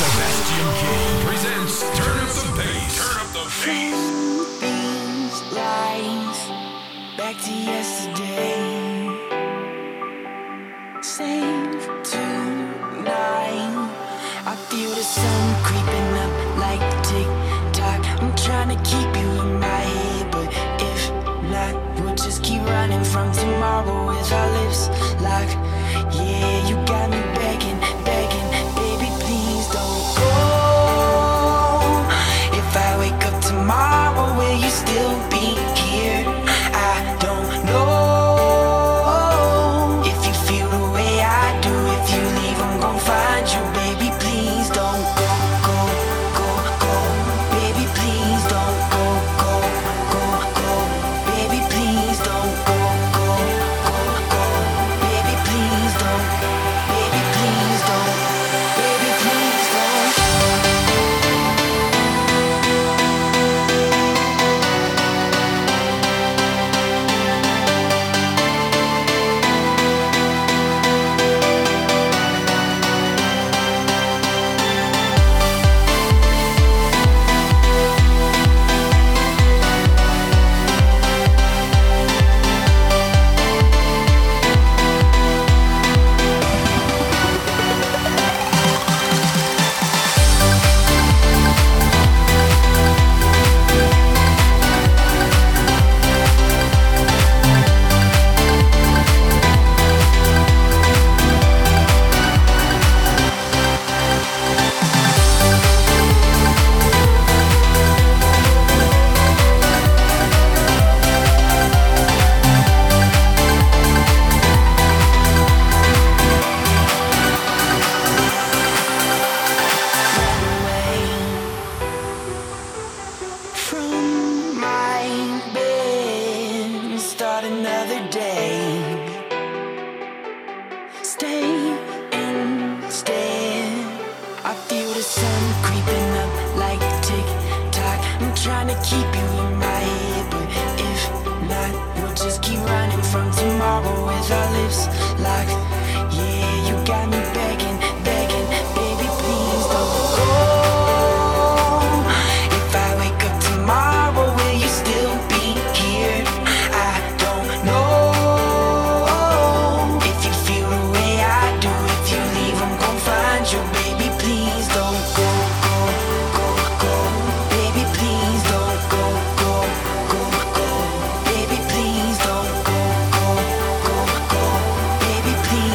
Sebastian King presents Turn Up the Bass. Turn Up the Bass. These lines back to yesterday. Same tonight. I feel the sun creeping up like tick-tock. I'm trying to keep you in my head, but if not, we'll just keep running from tomorrow with our lips locked. Yeah, you got me begging, begging, baby, please don't go. If I wake up tomorrow, will you still be here? I don't know. If you feel the way I do, if you leave, I'm gon' find you, baby, please don't go, go, go, go. Baby, please don't go, go, go, go. Baby, please don't go, go, go, go. Baby, please don't. Baby, please don't. Baby, please don't. From my bed, start another day. Stay instead. I feel the sun creeping up like tick-tock. I'm trying to keep you in my head, but if not, we'll just keep running from tomorrow with our lips locked. Yeah, you got me begging, begging, baby, please don't go. If I wake up tomorrow, will you still be here? I don't know. If you feel the way I do, if you leave, I'm gon' find you, baby, please don't go, go, go, go. Baby, please don't go, go, go, go. Baby, please don't go, go, go, go. Baby, please.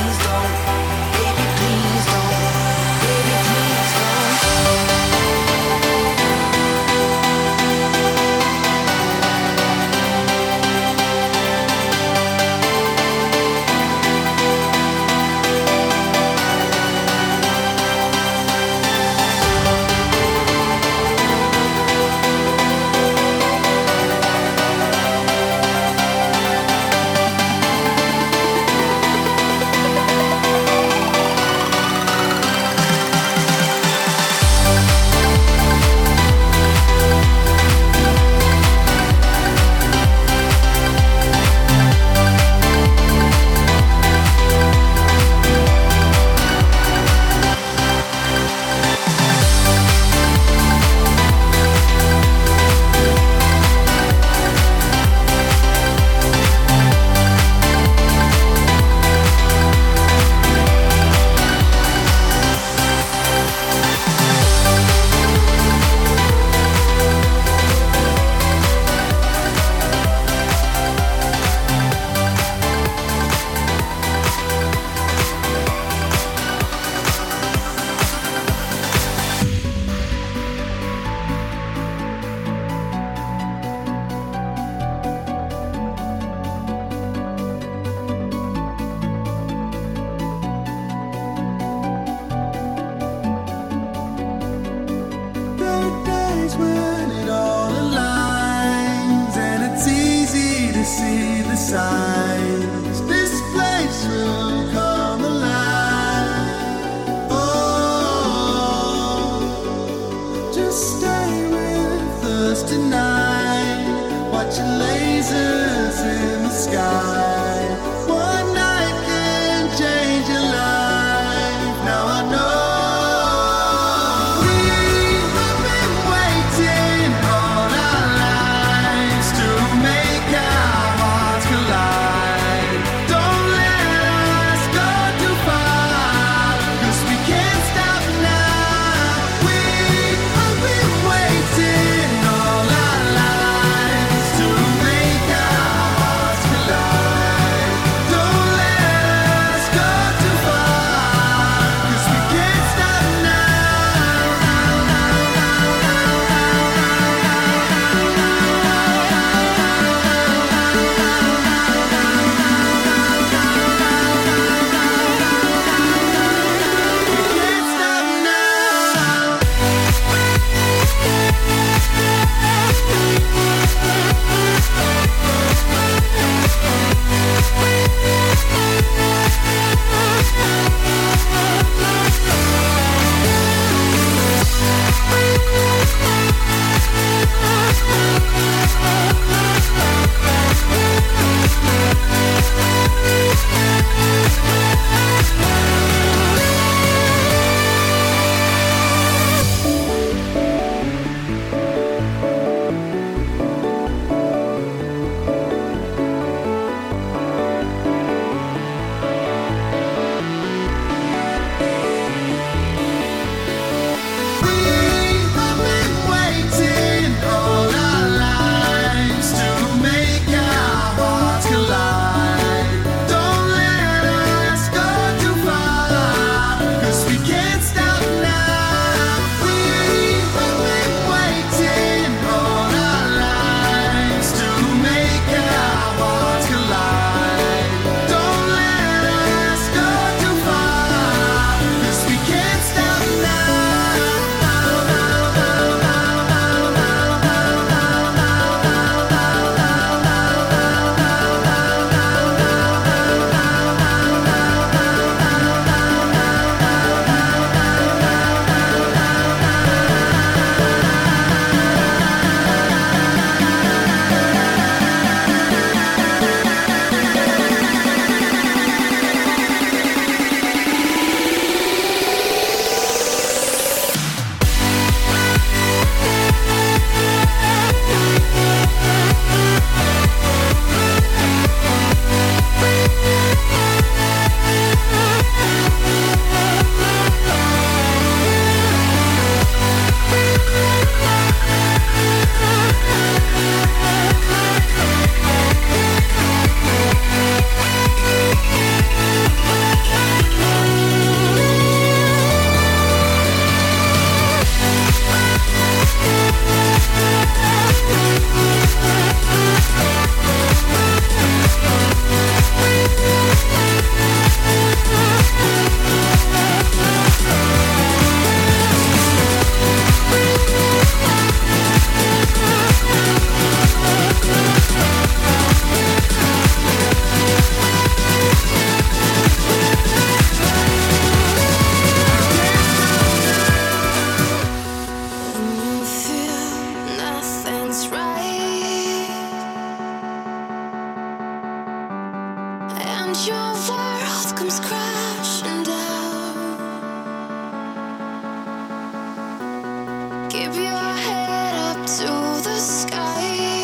Keep your head up to the sky.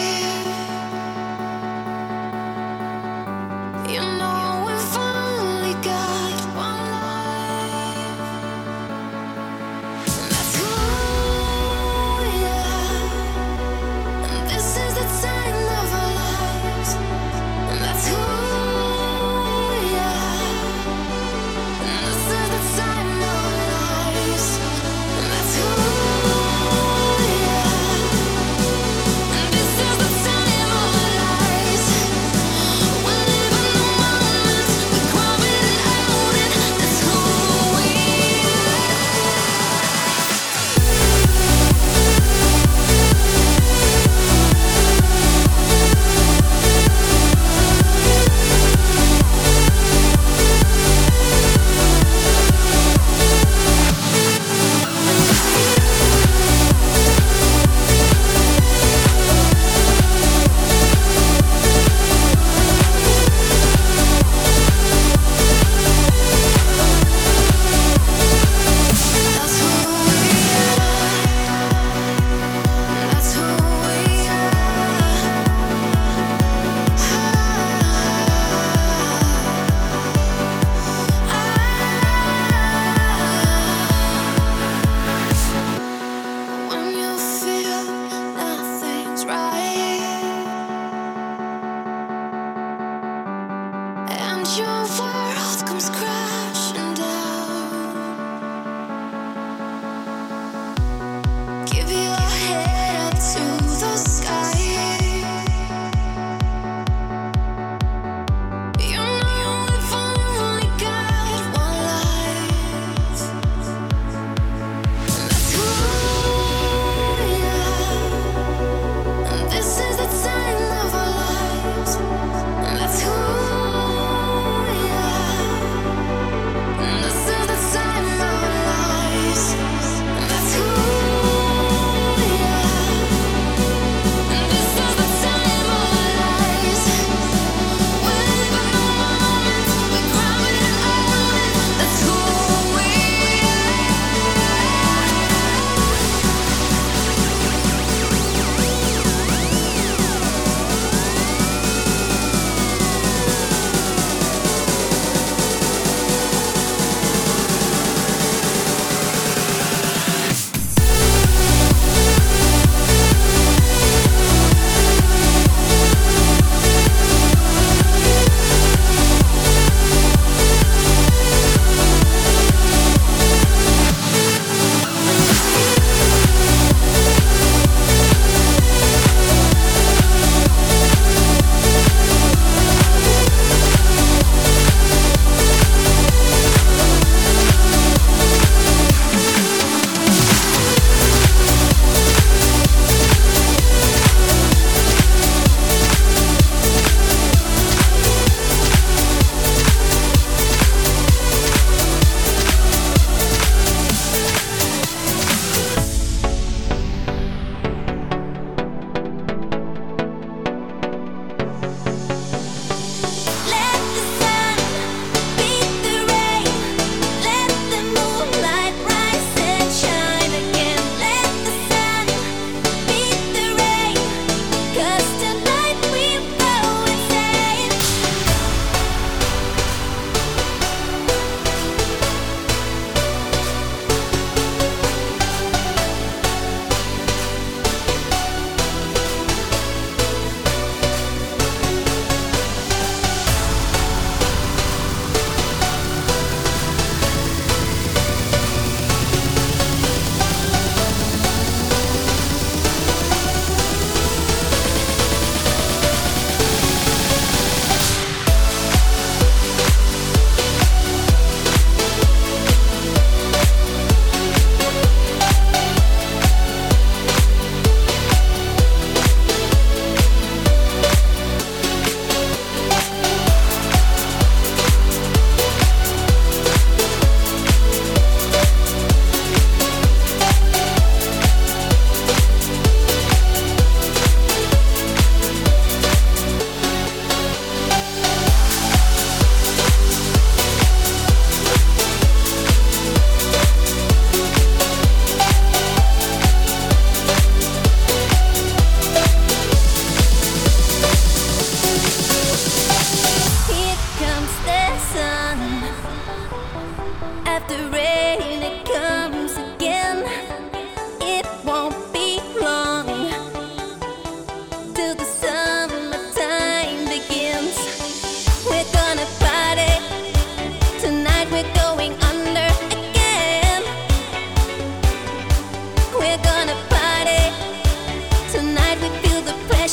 You know we've only got one life. And that's who we are. And this is the time of our lives. And that's who we are. And this is the time of our lives. And that's who we are. And this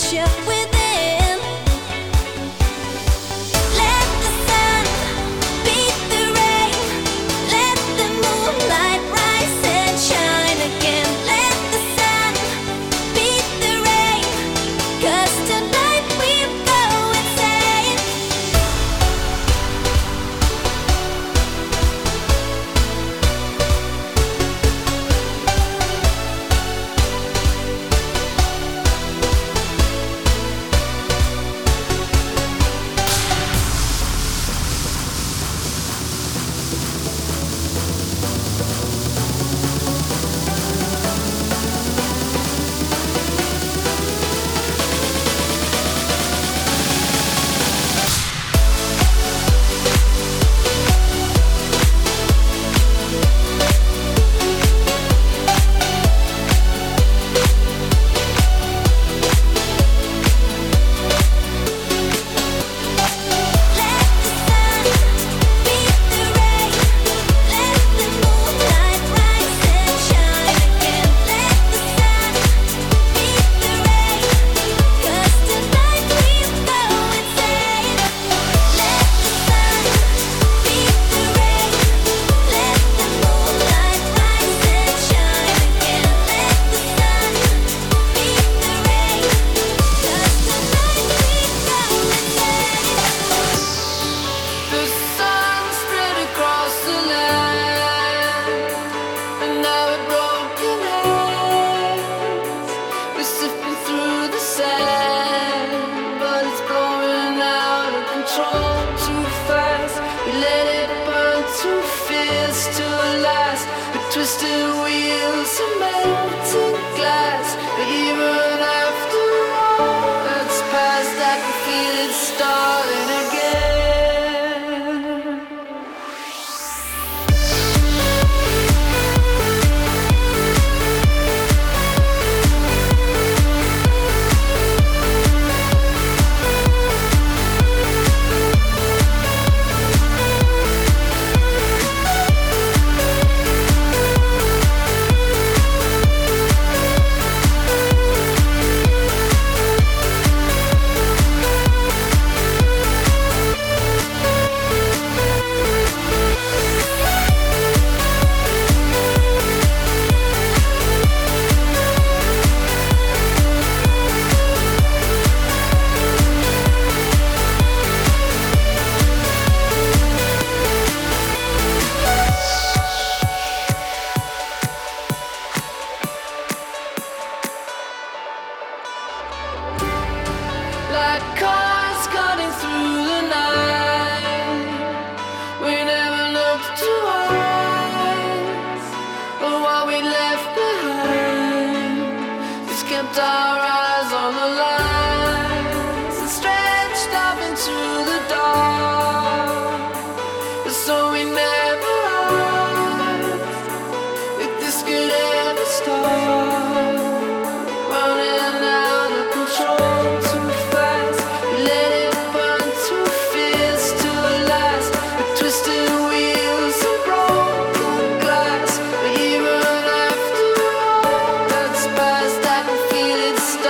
It's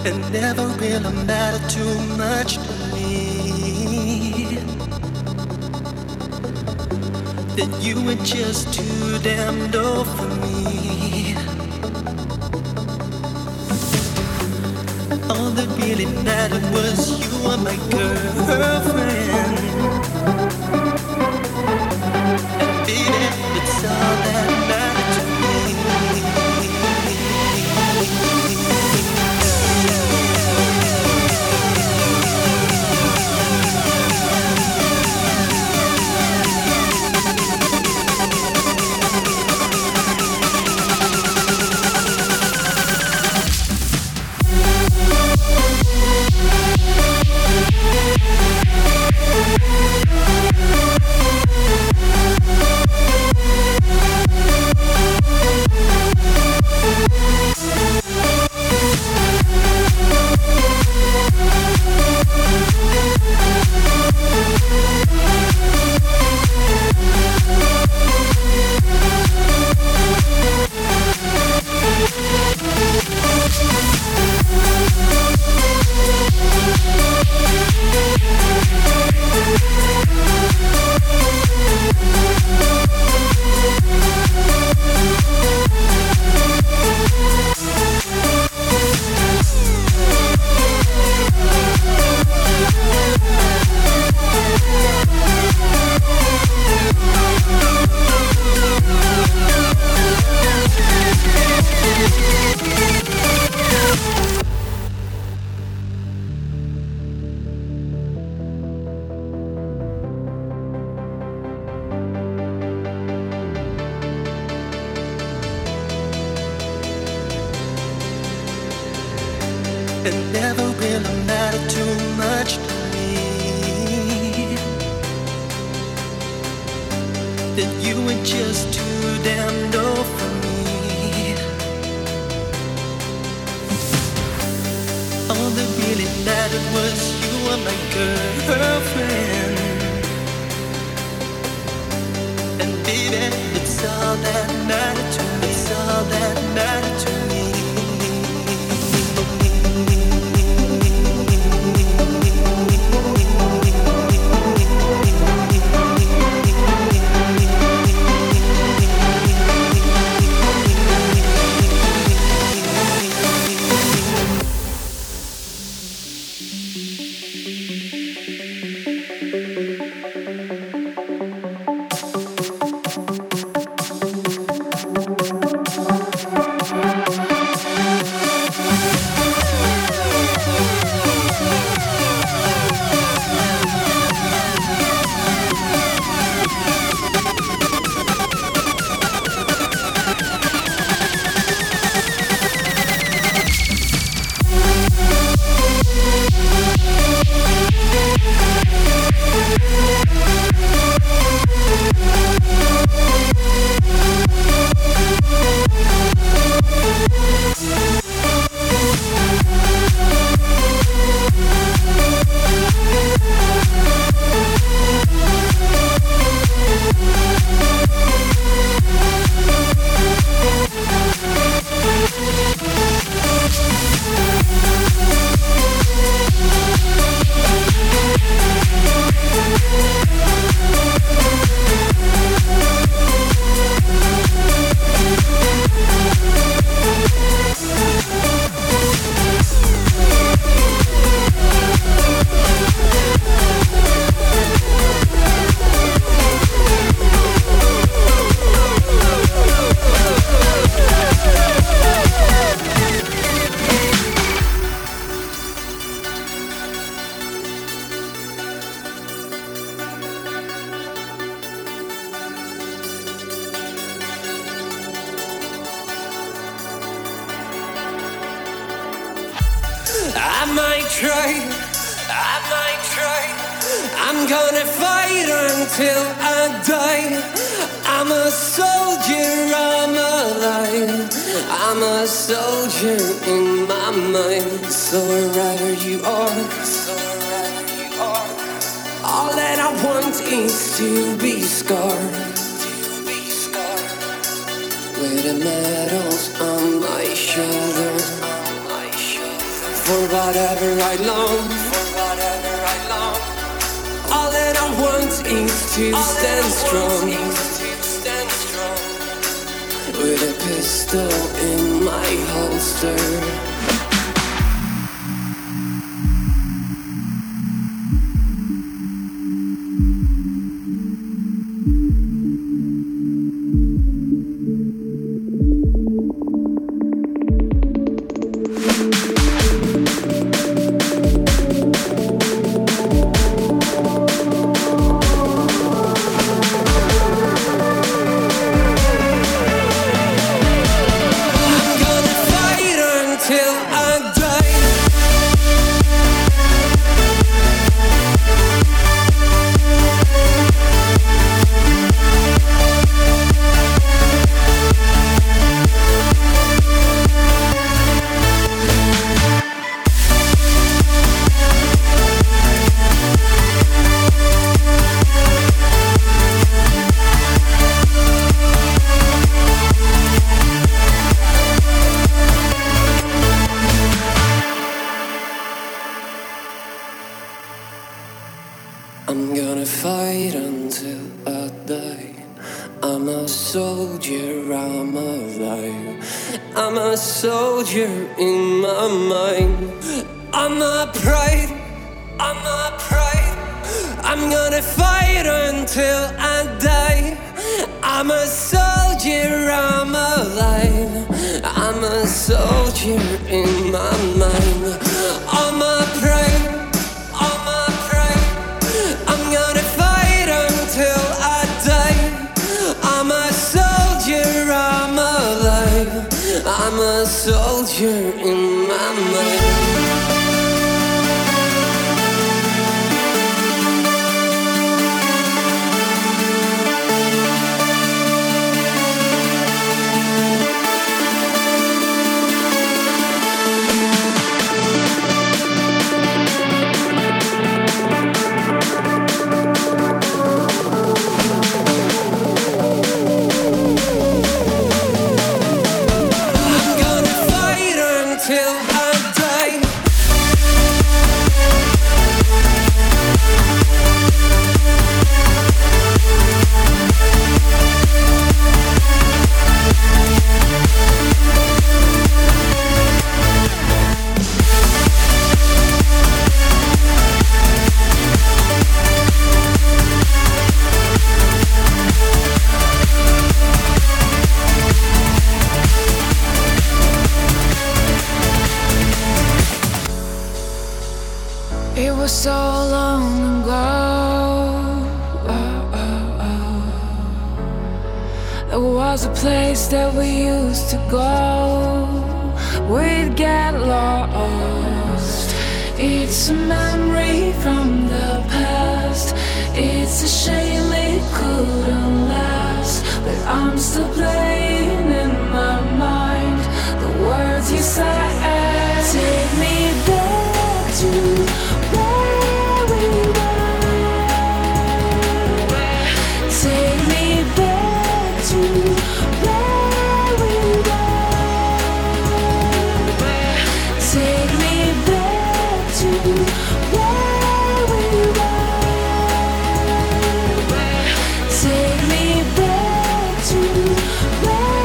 It never really mattered too much to me. That you were just too damn low for me. All that really mattered was you were my girlfriend. And baby, it's all that mattered to me. It never really mattered too much to me. That you were just too damn low for me. All that really mattered was you were my girlfriend. And baby, it's all that mattered to me. It's all that mattered to me. I'm gonna fight until I die. I'm a soldier, I'm alive. I'm a soldier in my mind. So wherever you are, all that I want is to be scarred. With the medals on my shoulder. for whatever I long. All that I want is to stand strong, with a pistol in my holster. I'm gonna fight until I die. I'm a soldier, I'm alive. I'm a soldier in my mind. I'm not pride, I'm not pride. I'm gonna fight until I die. I'm a soldier, I'm alive. I'm a soldier in my mind. I'm a pride. I'm gonna fight until I die. I'm a soldier, I'm alive. I'm a soldier in my mind. It was so long ago. There was a place that we used to go. We'd get lost. It's a memory from the past. It's a shame it couldn't last, but I'm still playing in my mind the words you said. Take me back to where we were. Take me back to where we were. Take me back to where we were. Take me back to where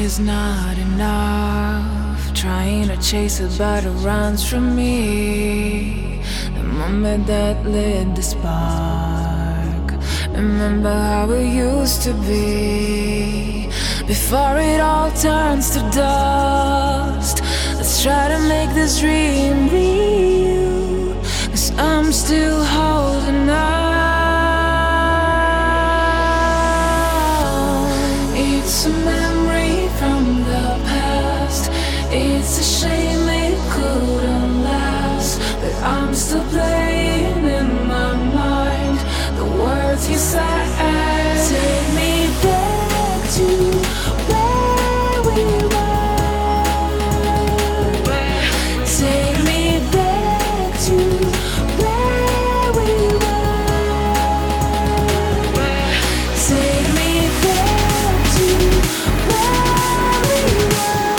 is not enough. Trying to chase it, but it runs from me. The moment that lit the spark. Remember how it used to be. Before it all turns to dust. Let's try to make this dream real. 'Cause I'm still holding on. It's a memory from the past. It's a shame it couldn't last. But I'm still playing in my mind the words you said. Take me back to where we were. Take me back to where we were. Take me back to where we were.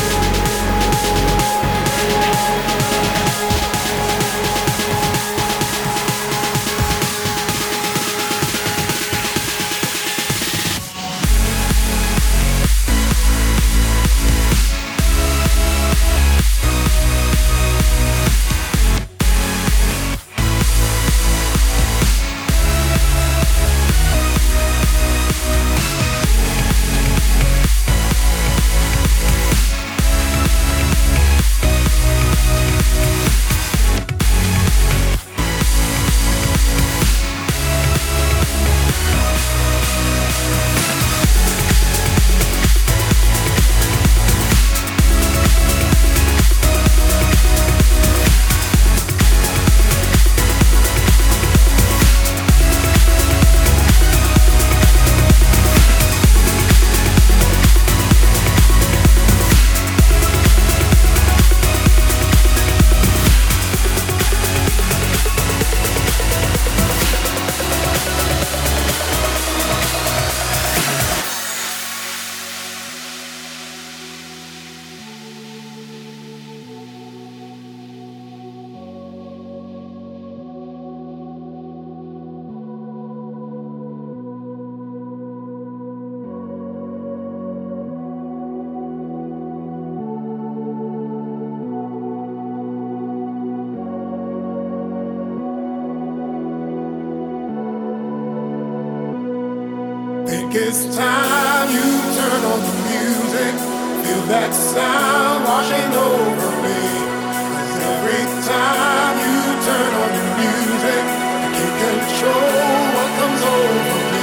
Think it's time you turn on the music. Feel that sound washing over me. 'Cause every time you turn on the music, I can't control what comes over me.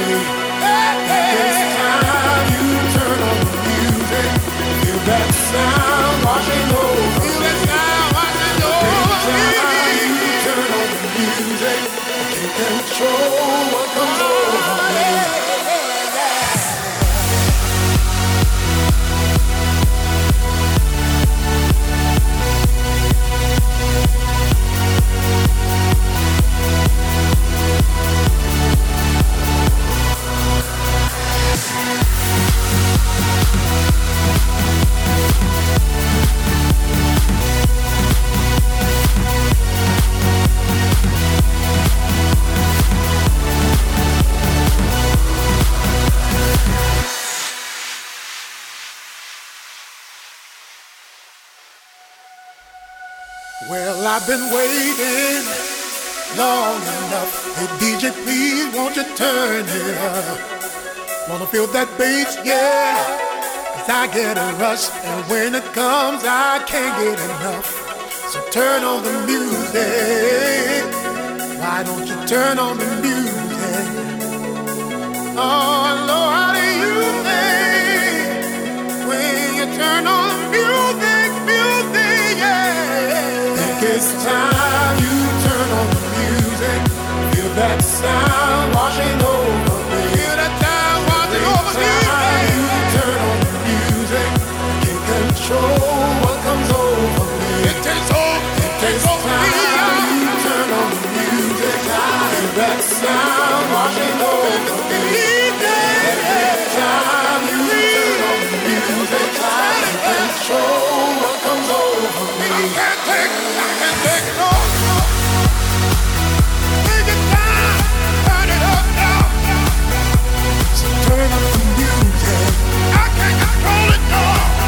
Think it's time you turn on the music. Feel that sound washing over me. Every time you turn on the music, I can't control what comes over me. Well, I've been waiting long enough. Hey, DJ, please, won't you turn it up? Wanna feel that bass, yeah. 'Cause I get a rush, and when it comes, I can't get enough. So turn on the music. Why don't you turn on the music? Oh, Lord, how do you think when you turn on the music, yeah? Think it's time you turn on the music. Feel that sound washing over me. Feel that sound washing over me. You turn on the music. Can't control what comes over me. It takes over me. You turn on the music. Feel that sound washing over me. Every time you turn on the music, can't control what comes over me. I can't take it no. Take it down, turn it up now. So turn up the music. I can't control it no.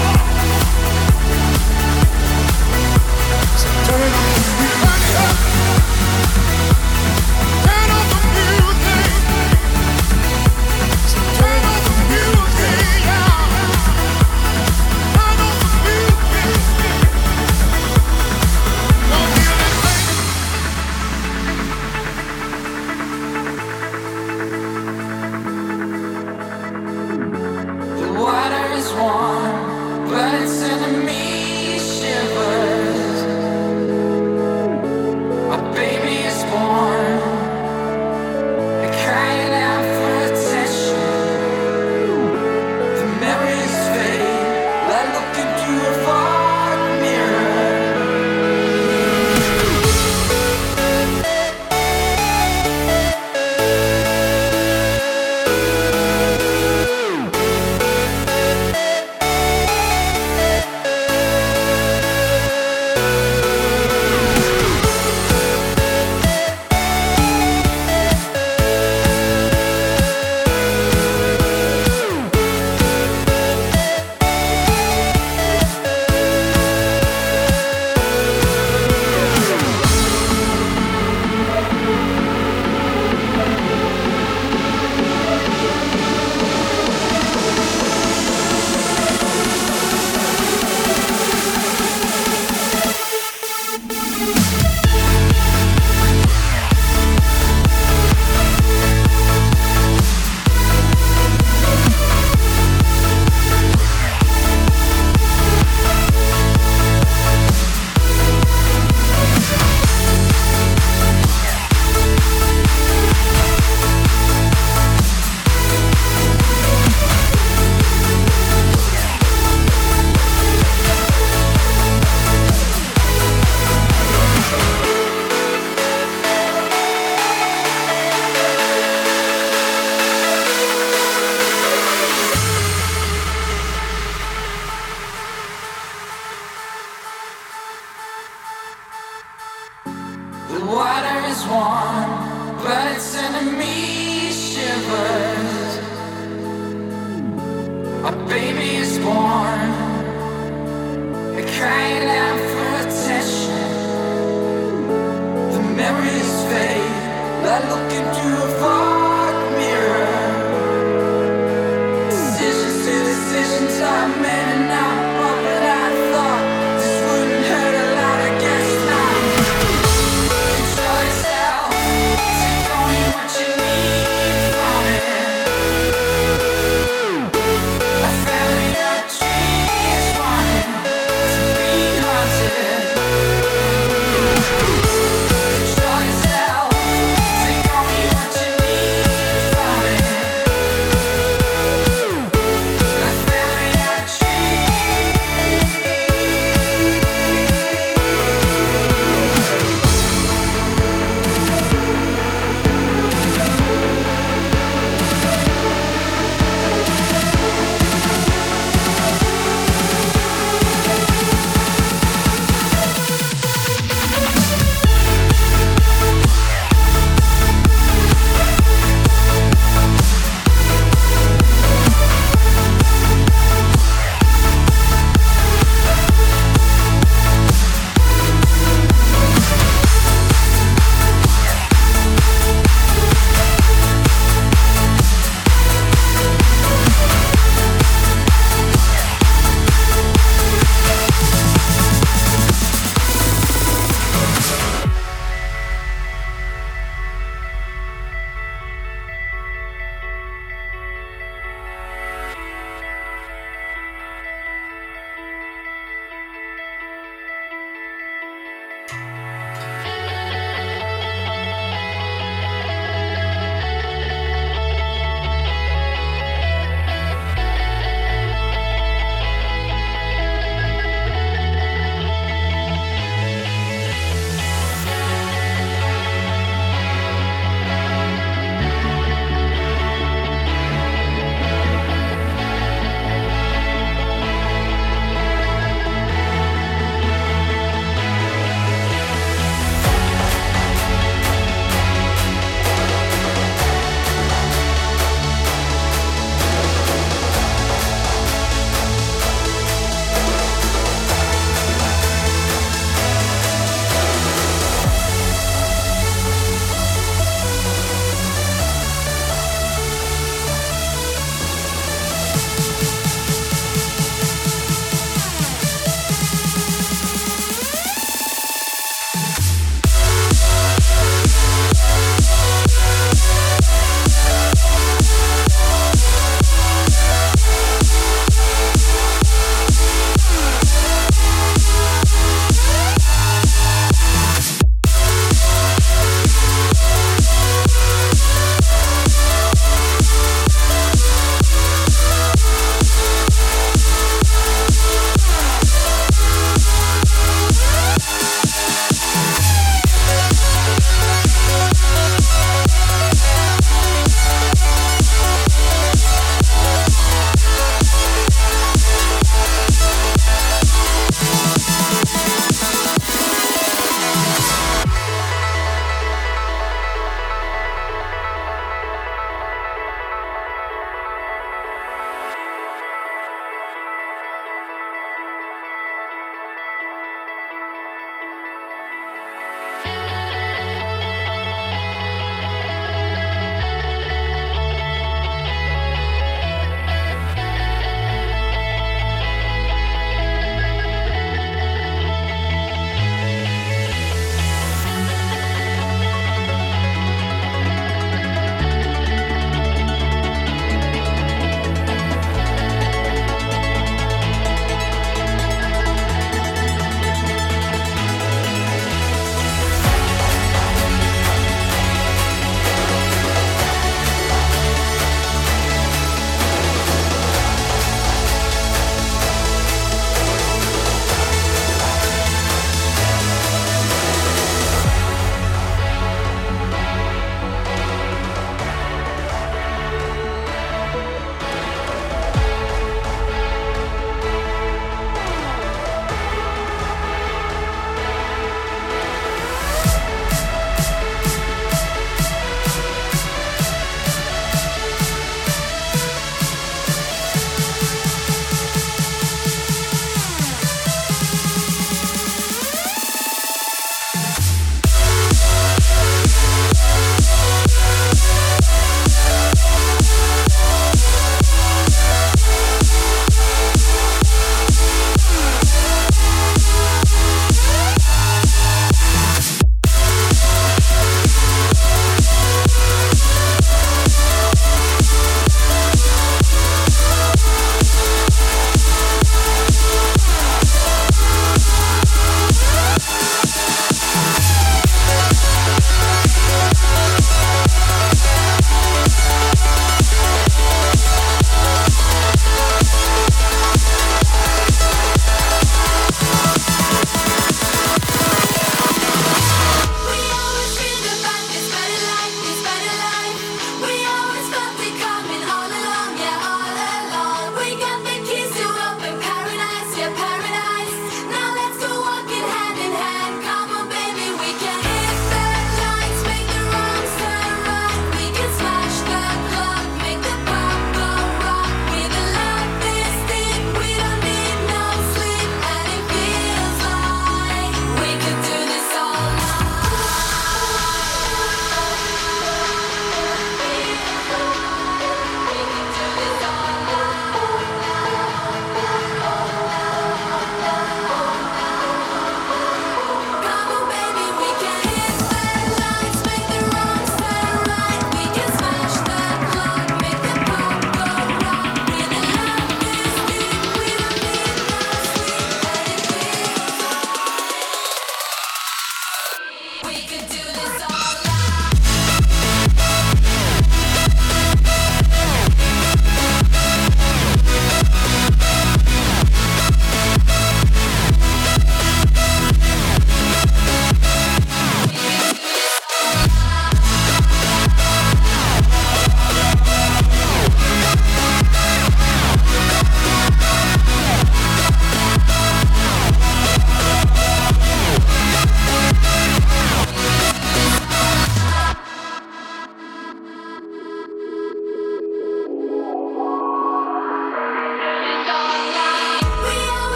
a baby is born, crying out for attention. The memories fade, like looking through a fog mirror. Decisions to decisions I made and now but I thought this wouldn't hurt a lot. I guess not. Control yourself, take only what you need from it. A family of trees wanting to be haunted. Control yourself, take only what you need.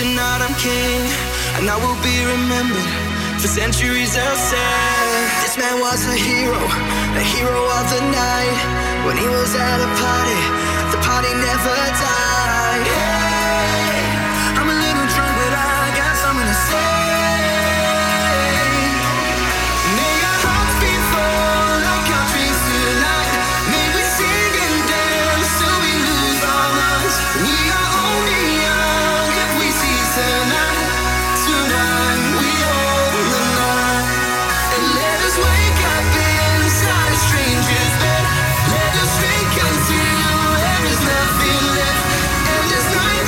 tonight I'm king, and I will be remembered for centuries of say. This man was a hero of the night. When he was at a party, the party never died. Yeah. I'm a little drunk, but I guess I'm gonna say, may our hearts be full like our dreams tonight. May we sing and dance till we lose our minds. We are only young if we seize tonight. Tonight we own the night. And let us wake up inside a stranger's bed. Let us drink until there is nothing left. And this night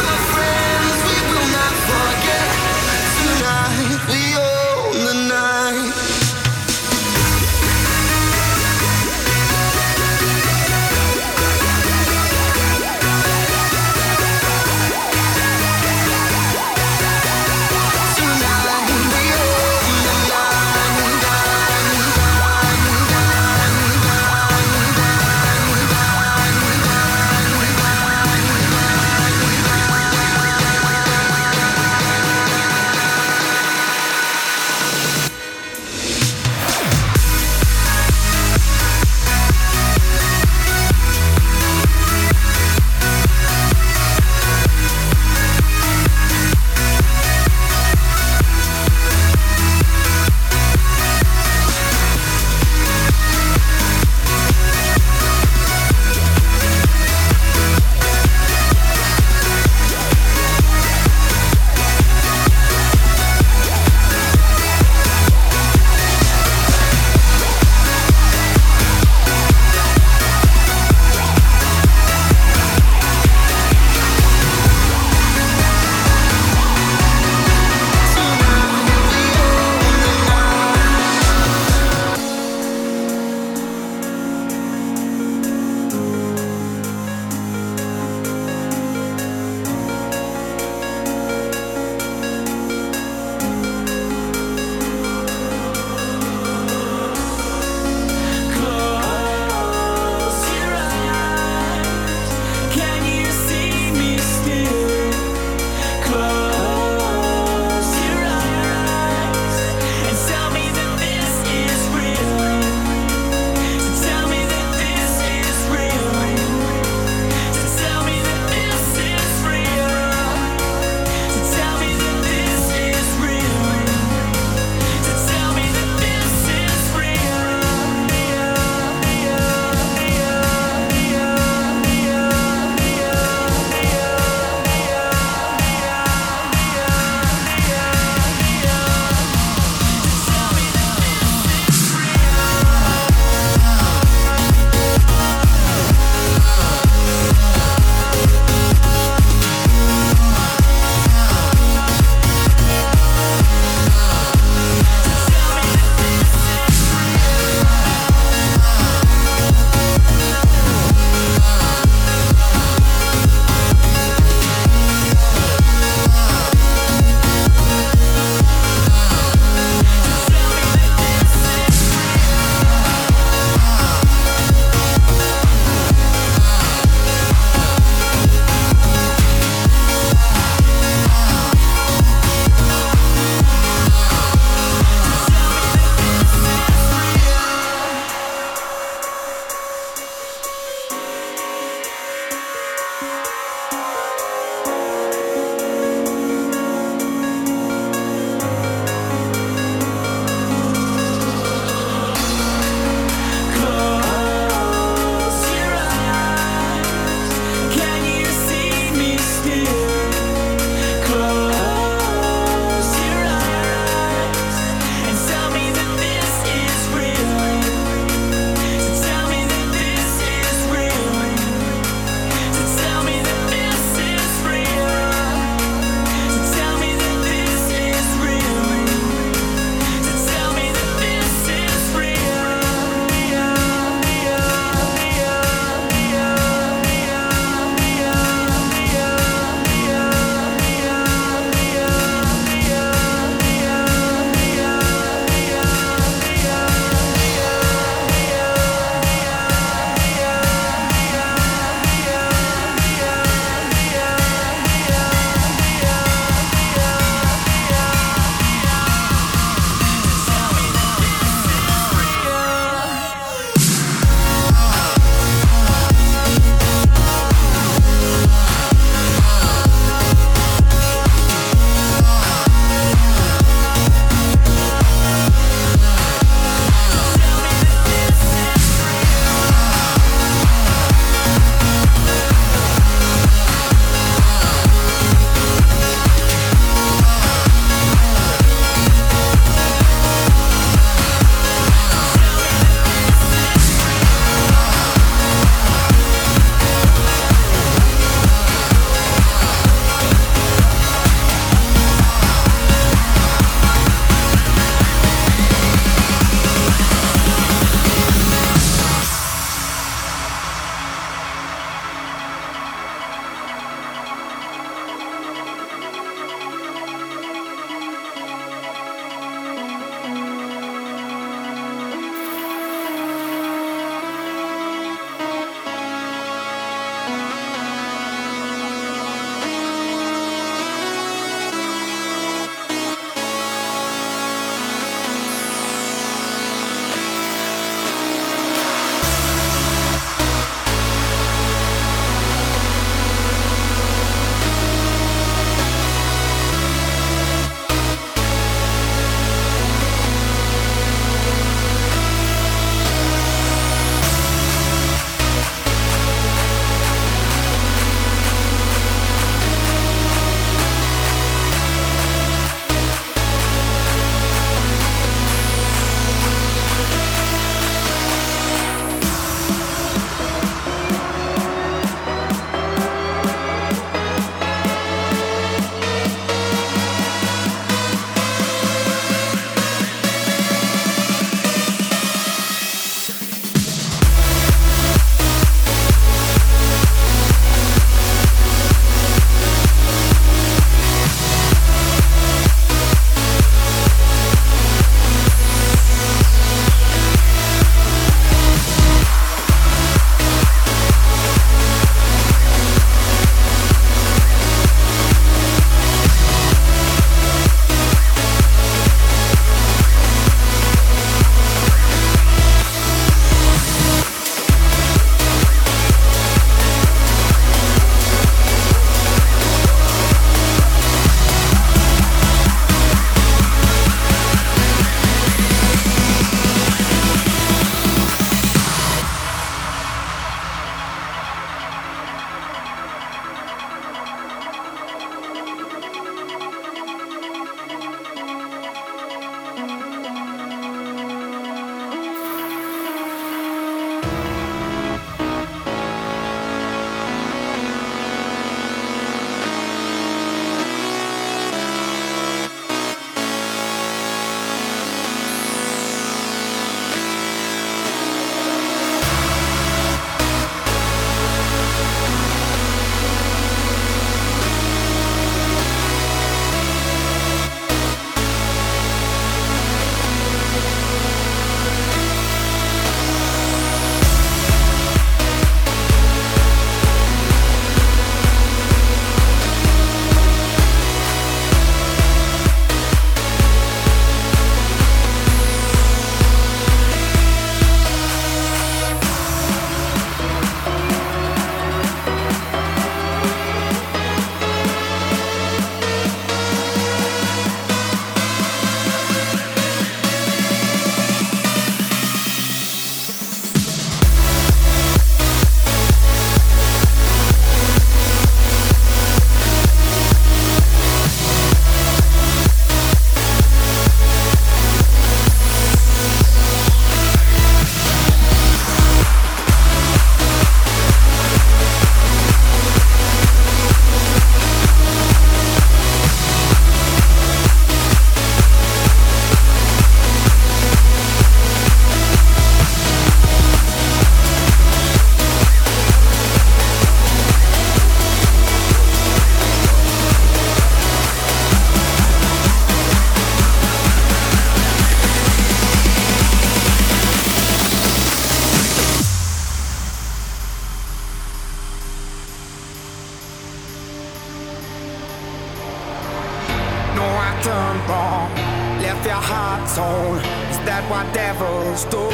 that what devils do.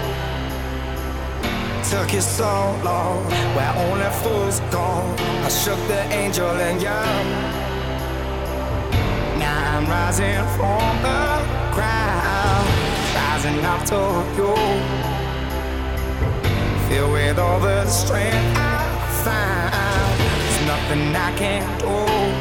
Took you so long, where only fools go. I shook the angel in you. Now I'm rising from the crowd, rising up to you. Filled with all the strength I found, there's nothing I can't do.